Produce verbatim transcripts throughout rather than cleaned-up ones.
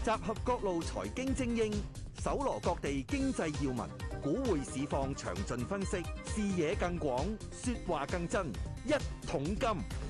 集合各路財經精英，搜羅各地經濟要聞，股匯市況詳盡分析，視野更廣，說話更真。一桶金。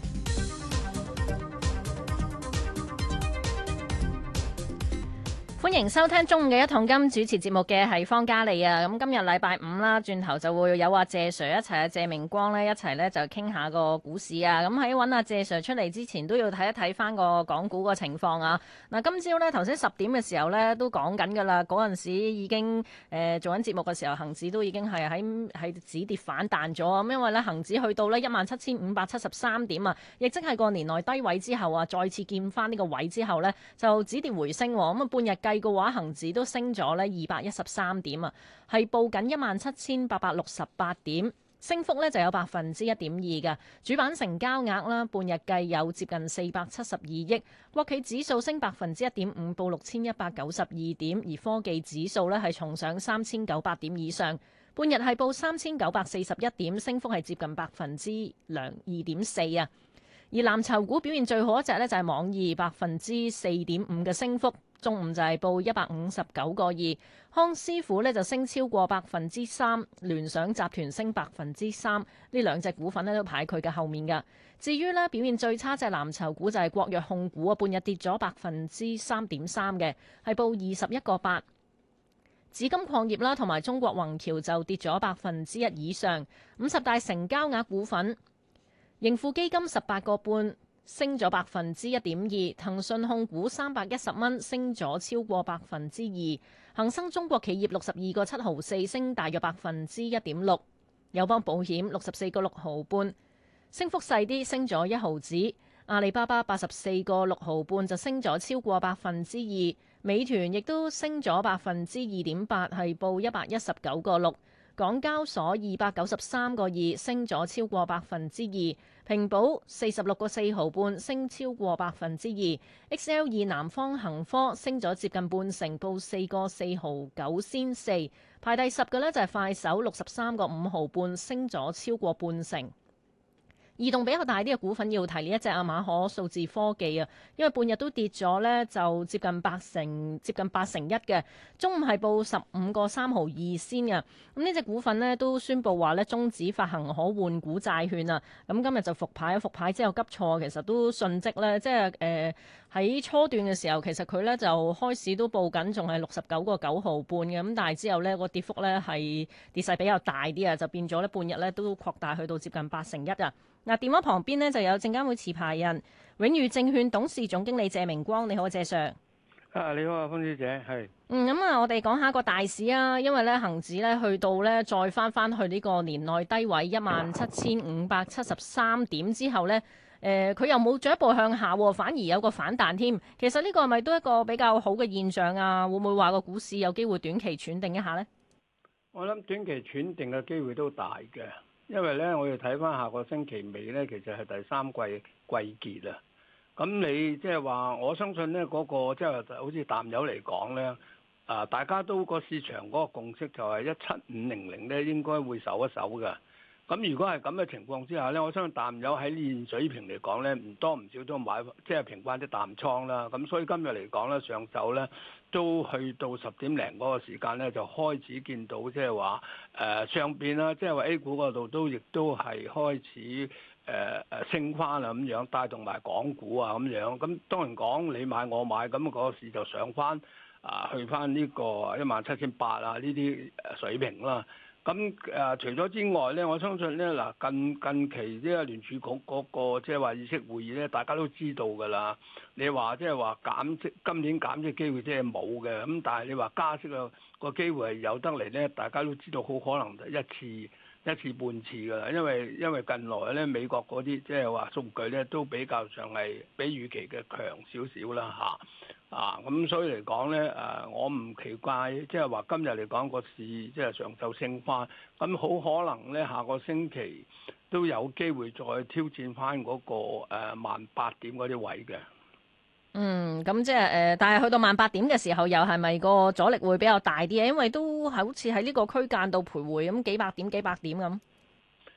歡迎收聽中午嘅一桶金，主持節目嘅係方嘉莉啊。咁今日禮拜五啦，轉頭就會有阿謝 Sir 一齊啊，謝明光呢一齊呢就傾下個股市啊。咁喺揾阿謝 Sir 出嚟之前，都要睇一睇翻個港股個情況啊。嗱，今朝呢頭先十點嘅時候呢都講緊㗎啦，嗰陣時已經誒、呃、做緊節目嘅時候，恒指都已經係喺喺止跌反彈咗啊。咁因為呢恒指去到呢一萬七千五百七十三點啊，亦即係過年內低位之後啊，再次見翻呢個位之後呢，就止跌回升。咁啊半日計嘅話，恒指都升咗呢二百一十三點啊，係報緊一萬七千八百六十八點，升幅呢就有百分之一點二嘅。主板成交額啦，半日計有接近四百七十二億。國企指數升百分之一點五，報六千一百九十二點，而科技指數呢係重上三千九百點以上，半日係報三千九百四十一點，升幅係接近百分之兩二點四啊。而藍籌股表現最好一隻呢，就係網易，百分之四點五嘅升幅。中午就係報一百五十九個二，康師傅呢就升超過百分之三，聯想集團升百分之三，呢兩隻股份呢都排佢嘅後面㗎。至於呢表現最差隻藍籌股就係國藥控股啊，半日跌咗百分之三點三嘅，係報二十一個八。紫金礦業啦同埋中國宏橋就跌咗百分之一以上。五十大成交額股份，盈富基金十八個半。升咗百分之一點二，騰訊控股三百一十蚊，升咗超過百分之二，恒生中國企業六十二個七毫四，升大約百分之一點六，友邦保險六十四個六毫半，升幅細啲，升咗一毫子，阿里巴巴八十四個六毫半就升咗超過百分之二，美團亦都升咗百分之二點八，係報一百一十九個六。港交所二百九十三個二，升咗超過百分之二，平保四十六個四毫半，升超過百分之二 ，X L 二南方恒科升咗接近半成，報四個四毫九仙四，排第十嘅呢就係快手六十三個五毫半，升咗超過半成。異動比較大啲嘅股份要提呢一隻啊，馬可數字科技啊，因為半日都跌咗呢，就接近八成，接近八成一嘅。中午係報十五個三毫二先嘅。咁呢隻股份呢，都宣布話呢，終止發行可換股債券啊。咁今日就復牌，復牌之後急挫，其實都迅即呢，即係誒喺初段嘅時候，其實佢呢就開市都報緊，仲係六十九個九毫半嘅。咁但係之後呢，個跌幅呢係跌勢比較大啲啊，就變咗呢半日呢都擴大去到接近八成一啊。嗱，電話旁邊呢就有證監會持牌人永裕證券董事總經理謝明光，你好，謝 Sir。 啊，你好啊，方小姐，係。 嗯，咁啊，我哋講下個大市啊，因為咧恒指咧去到咧再翻翻去呢個年內低位一萬七千五百七十三點之後咧，誒、呃，佢又冇進一步向下，反而有個反彈添。其實呢個係咪都一個比較好嘅現象啊？會唔會話個股市有機會短期喘定一下呢？ 我諗短期喘定嘅機會都大嘅。因為咧，我要睇翻下個星期尾咧，其實係第三季季結啊。咁你即係話，我相信咧嗰個即係好似淡友嚟講咧，啊，大家都個市場嗰個共識就係一七五零零咧應該會守一守嘅。咁如果係咁嘅情況之下咧，我相信淡友喺現水平嚟講咧，唔多唔少都買即係平翻啲淡倉啦。咁所以今日嚟講咧，上晝咧都去到十點零嗰個時間咧，就開始見到即係話誒上邊啦，即係話 A 股嗰度都亦都係開始誒誒、呃、升翻啦咁樣，帶動埋港股啊咁樣。咁當然講你買我買，咁、那個市就上翻啊，去翻呢個一萬七千八啊呢啲水平啦。咁誒、呃、除咗之外咧，我相信咧嗱近近期呢個聯儲局嗰個即係話議息會議咧，大家都知道㗎啦。你話即係話減息，今年減息機會即係冇嘅。咁但係你話加息嘅個機會係有得嚟咧，大家都知道好可能就一次一次半次㗎啦。因為因為近來咧美國嗰啲即係話數據咧都比較上係比預期嘅強少少啦嚇。啊，咁所以嚟講咧，誒，我唔奇怪，即係話今日嚟講個市即係上晝升翻，咁好可能咧下個星期都有機會再挑戰翻嗰個誒萬八點嗰啲位嘅。 嗯，咁即係誒，但係去到萬八點嘅時候，又係咪個阻力會比較大啲啊？因為都係好似喺呢個區間度徘徊咁幾百點、幾百點咁。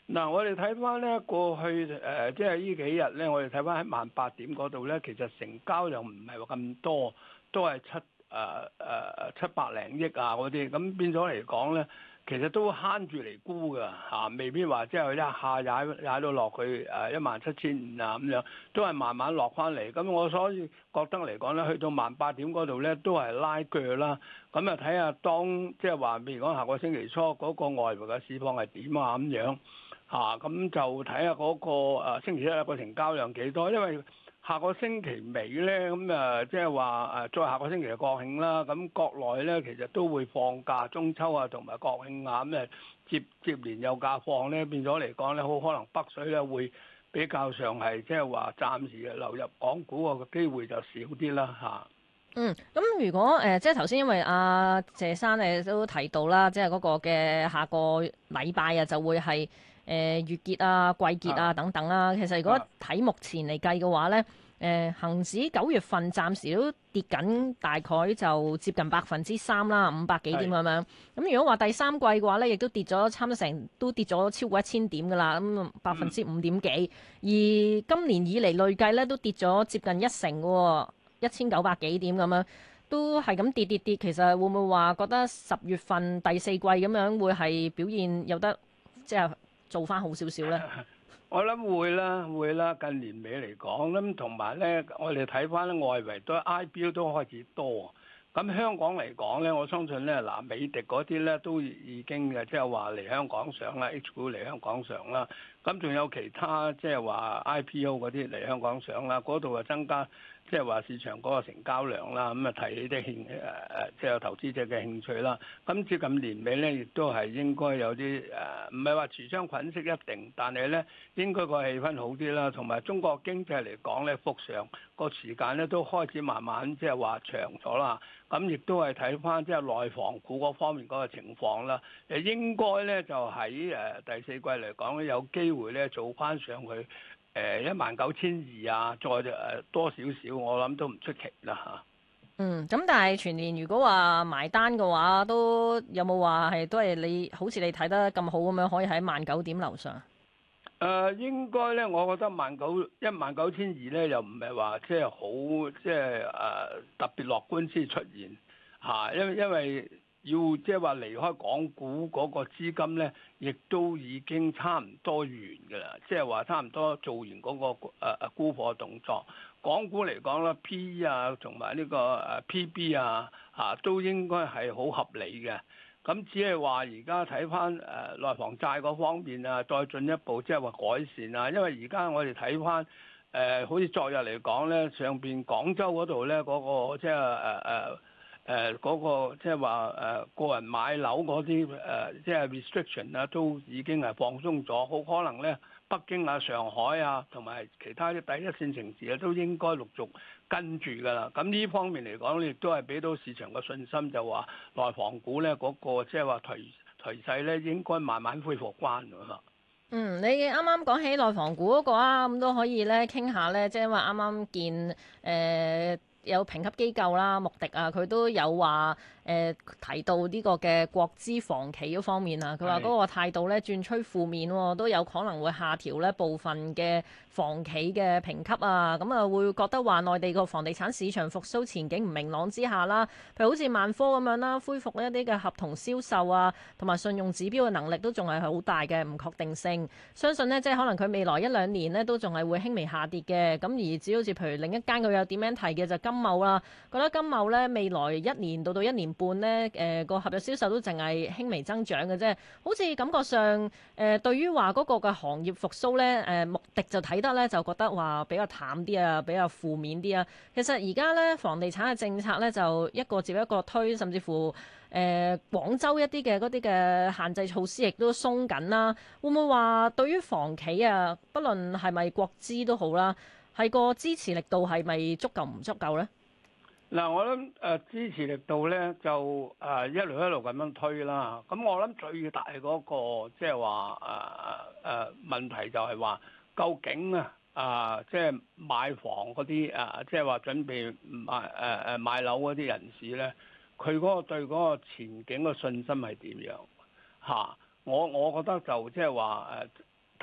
嗱，我哋睇翻咧過去誒、呃，即係呢幾日咧，我哋睇翻喺萬八點嗰度咧，其實成交又唔係話咁多，都係七誒誒、呃、七百零億啊嗰啲，咁變咗嚟講咧，其實都慳住嚟沽㗎嚇，未必話即係一下踩踩到落去誒一萬七千五啊咁樣，都係慢慢落翻嚟。咁我所以覺得嚟講咧，去到萬八點嗰度咧，都係拉鋸啦。咁啊睇下當即係話，譬如講下個星期初嗰個外圍嘅市況係點啊咁樣。嚇，咁、啊、就睇下嗰個誒、啊、星期一個成交量幾多，因為下個星期尾咧，咁誒即係話誒再下個星期嘅國慶啦，咁國內咧其實都會放假，中秋啊同埋國慶啊，咁誒接接連有假放咧，變咗嚟講咧，好可能北水咧會比較上係即係話暫時流入港股個機會就少啲啦嚇。啊嗯，咁如果誒、呃、即係頭先，因為阿、啊、謝生誒都提到啦，即係嗰個嘅下個禮拜啊，就會係誒、呃、月結啊、季結啊等等啦、啊。其實如果睇目前嚟計嘅話咧，誒、呃、恆指九月份暫時都跌緊，大概就接近百分之三啦，五百幾點咁樣。咁是如果話第三季嘅話咧，亦都跌咗差唔多成，都跌咗超過一千點噶啦，咁百分之五點幾。而今年以嚟累計咧都跌咗接近一成嘅喎。一千九百幾點咁樣，都係咁跌跌跌。其實會唔會話覺得十月份第四季咁樣會係表現有得即係做翻好少少咧？ 我諗會啦，會啦。近年尾嚟講，咁同埋咧，我哋睇翻咧外圍都 I P O 都開始多。咁香港嚟講咧，我相信咧嗱，美的嗰啲咧都已經嘅，即係話嚟香港上啦 ，H 股嚟香港上啦。咁仲有其他即係話 I P O 嗰啲嚟香港上啦，嗰度啊增加。即係話市場嗰個成交量啦，咁啊提起啲興誒誒，即係有投資者嘅興趣啦。咁接近年尾咧，亦都係應該有啲誒，唔係話持雙捆式一定，但係咧應該個氣氛好啲啦。同埋中國經濟嚟講咧，復常個時間咧都開始慢慢即係話長咗啦。咁亦都係睇翻即係內房股嗰方面嗰個情況啦。誒應該咧就喺誒第四季嚟講咧，有機會咧做翻上去。誒一萬九千二啊，再誒多少少，我諗都唔出奇啦嚇。 嗯，咁但係全年如果話埋單嘅話，都有冇話係都係你好似你睇得咁好咁樣，可以喺萬九點樓上？誒、 呃、應該咧，我覺得萬九一萬九千二咧，又唔係話即係好即係誒特別樂觀先出現嚇、啊，因為因為。要即係話離開港股嗰個資金咧，亦都已經差唔多完㗎啦。即係話差唔多做完嗰、那個誒誒、呃、沽貨動作。港股嚟講咧 ，P E 啊同埋呢個誒 P B 啊嚇、啊、都應該係好合理嘅。咁只係話而家睇翻誒內房債嗰方面啊，再進一步即係話改善啊。因為而家我哋睇翻誒，好似昨日嚟講咧，上邊廣州嗰度咧嗰個即係誒誒。呃呃誒嗰、呃那個即係話誒個人買樓嗰啲誒即係 restriction 啊，都已經係放鬆咗，好可能咧北京啊、上海啊同埋其他啲第一線城市啊，都應該陸續跟住㗎啦。咁呢方面嚟講，亦都係俾到市場嘅信心，就話內房股咧嗰、那個即係話頹頹勢咧，應該慢慢恢復翻㗎嘛。 嗯，你啱啱講起內房股嗰個啊，咁都可以咧傾下咧，即係因為啱啱見誒。呃有評級機構啦，穆迪啊，佢都有話誒、呃、提到呢個嘅國資房企嗰方面啊，佢話嗰個態度咧轉趨負面喎，都有可能會下調咧部分嘅房企嘅評級啊，咁啊會覺得話內地個房地產市場復甦前景唔明朗之下啦，譬如好似萬科咁樣啦，恢復一啲嘅合同銷售啊，同埋信用指標嘅能力都仲係好大嘅唔確定性，相信呢，即係可能佢未來一兩年呢都仲係會輕微下跌嘅，咁而只好似譬如另一間佢有點樣提嘅就金茂啦，覺得金茂咧未來一年到到一年半咧，誒、呃、個合約銷售都淨係輕微增長嘅啫，好似感覺上誒、呃、對於話嗰個嘅行業復甦咧，誒、呃、穆迪就睇得咧就覺得話比較淡啲啊，比較負面啲啊。其實而家咧房地產嘅政策咧就一個接一個推，甚至乎誒、呃、廣州一啲嘅嗰啲嘅限制措施亦都鬆緊啦。會唔會話對於房企啊，不論係咪國資都好啦，係個支持力度係咪足夠唔足夠咧？ 嗱，我諗誒支持力度咧就誒一路一路咁樣推啦。咁我諗最大嗰個即係話誒誒問題就係話，究竟啊啊即係買房嗰啲啊即係話準備買誒誒買樓嗰啲人士咧，佢嗰個對嗰個前景嘅信心係點樣嚇？我我覺得就即係話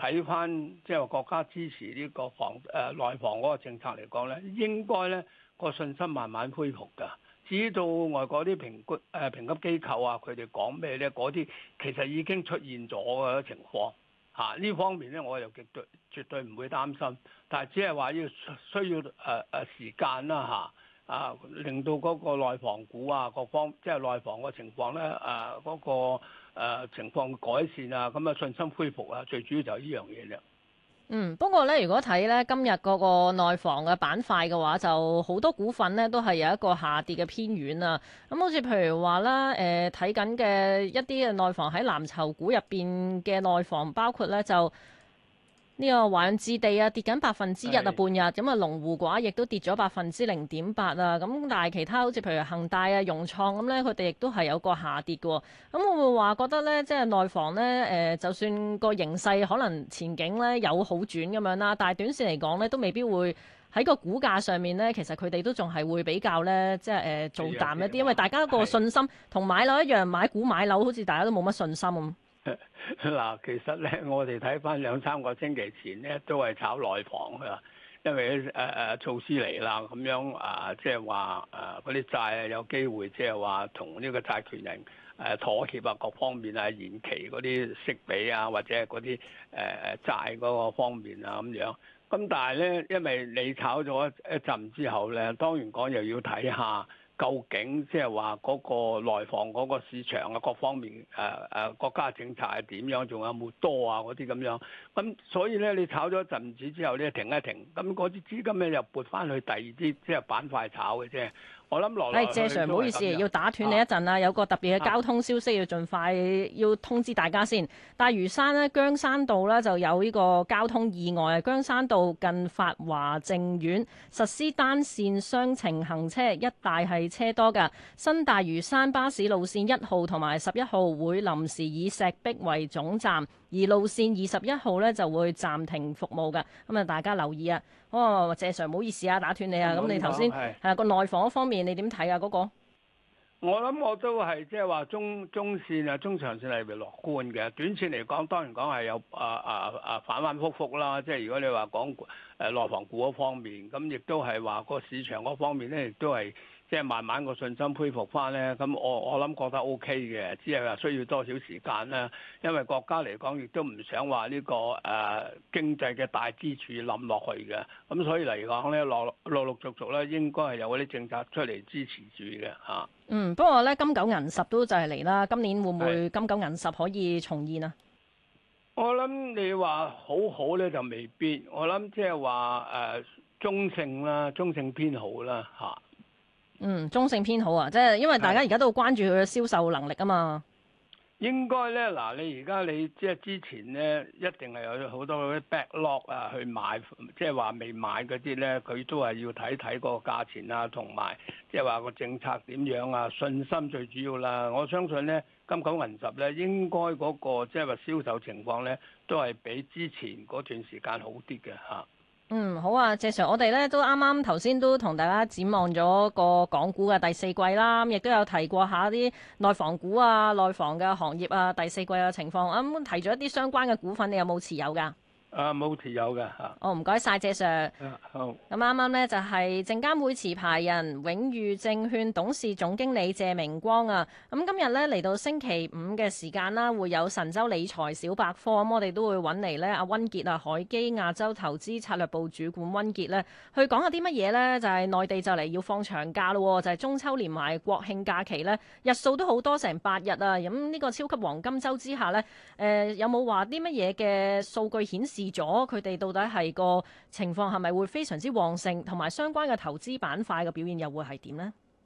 睇翻即係話國家支持呢個房誒、呃、內房嗰個政策嚟講咧，應該咧個信心慢慢恢復㗎。至於到外國啲評估誒評級機構啊，佢哋講咩咧？嗰啲其實已經出現咗嘅情況嚇。呢、啊、方面咧，我又絕對絕對唔會擔心，但係只係話要需要誒誒、呃、時間啦嚇。啊，令到嗰個內房股啊，各方即係內房個情況咧，誒、啊、嗰、那個、呃、情況改善啊，咁啊信心恢復啊，最主要就係呢樣嘢啫。 嗯，不過咧，如果睇咧今日嗰個內房嘅板塊嘅話，就好多股份咧都係有一個下跌嘅偏遠啊。咁好似譬如話啦，誒睇緊嘅一啲嘅內房喺藍籌股入邊嘅內房，包括咧就。呢個華潤置地啊，跌緊百分之一啊，半日咁啊，龍湖嘅話亦都跌咗百分之零點八啊。咁但係其他好似譬如恒大啊、融創咁咧，佢哋亦都係有個下跌嘅。咁會唔會話覺得咧，即係內房咧，誒，就算個形勢可能前景咧有好轉咁樣啦，但係短線嚟講咧，都未必會喺個股價上面咧，其實佢哋都仲係會比較咧，即係誒做淡一啲，因為大家個信心同買樓一樣，買股買樓好似大家都冇乜信心咁。 嗱，其實咧，我哋睇翻兩三個星期前咧，都係炒內房㗎，因為誒誒、呃、措施嚟啦，咁樣啊，即係話誒嗰啲債啊有機會，即係話同呢個債權人誒妥協啊，各方面啊，延期嗰啲息比啊，或者係嗰啲誒誒債嗰個方面啊咁樣。咁但係咧，因為你炒咗一陣之後咧，當然講又要睇下。究竟即係話嗰個內房嗰個市場啊，各方面誒誒、呃、國家政策係點樣，仲有冇多啊嗰啲咁樣？咁所以咧，你炒咗一陣子之後咧，停一停，咁嗰啲資金咧又撥翻去第二啲即係板塊炒嘅啫。我諗落嚟， 謝 Sir， 唔好意思，要打斷你一陣啦，啊、有個特別嘅交通消息要盡快要通知大家先。大嶼山呢，姜山道呢就有呢個交通意外啊！姜山道近發華正苑實施單線雙程行車，一帶係車多㗎。新大嶼山巴士路線一號同埋十一號會臨時以石壁為總站，而路線二十一號呢就會暫停服務㗎。咁啊，大家留意啊！哦，謝 Sir， 唔好意思啊，打斷你啊。咁、嗯、你頭先係啊個內房嗰方面，你點睇啊？嗰、那個我諗我都係即係話中中線啊、中長線係咪樂觀嘅？短線嚟講，當然講係有啊啊啊反反覆覆啦。即係如果你話講誒內房股嗰方面，咁亦都係話個市場嗰方面咧，亦都係。即係慢慢個信心恢復翻咧，咁我我諗覺得 O K 嘅，只係話需要多少時間啦。因為國家嚟講，亦都唔想話呢、這個誒、呃、經濟嘅大支柱冧落去嘅，咁所以嚟講咧，陸陸陸續續咧，應該係有嗰啲政策出嚟支持住嘅嚇。 嗯，不過咧金九銀十都就係嚟啦，今年會唔會金九銀十可以重現啊？ 我諗你話好好咧就未必，我諗即係話誒中性啦，中性偏好啦嚇。 嗯，中性偏好啊，即係因為大家而家都好關注佢嘅銷售能力啊嘛。 應該咧，嗱，你而家你即係之前咧，一定係有好多嗰啲 backlog 啊，去買，即係話未買嗰啲咧，佢都係要睇睇嗰個價錢啊，同埋即係話個政策點樣啊，信心最主要啦。我相信咧，金九銀十咧，應該嗰個即係話銷售情況咧，都係比之前嗰段時間好啲嘅嚇。 嗯，好啊，謝 Sir，我哋咧都啱啱頭先都同大家展望咗個港股嘅第四季啦，亦都有提過下啲內房股啊、內房嘅行業啊，第四季嘅情況。咁、嗯、提咗一啲相關嘅股份，你有冇持有㗎？ 啊，冇持有嘅嚇。 哦，唔該晒，謝 Sir。 好。咁啱啱呢就係證監會持牌人永裕證券董事總經理謝明光啊。咁今日呢嚟到星期五嘅時間啦，會有神州理財小百科。咁我哋都會揾嚟呢阿溫傑啊，海基亞洲投資策略部主管溫傑呢，去講下啲乜嘢呢？就係內地就嚟要放長假咯，就係中秋連埋國慶假期呢，日數都好多成八日啊。咁呢個超級黃金週之下呢，誒有冇話啲乜嘢嘅數據顯示咗佢哋到底係個情況係咪會非常之旺盛，同埋相關嘅投資板塊嘅表現又會係點呢？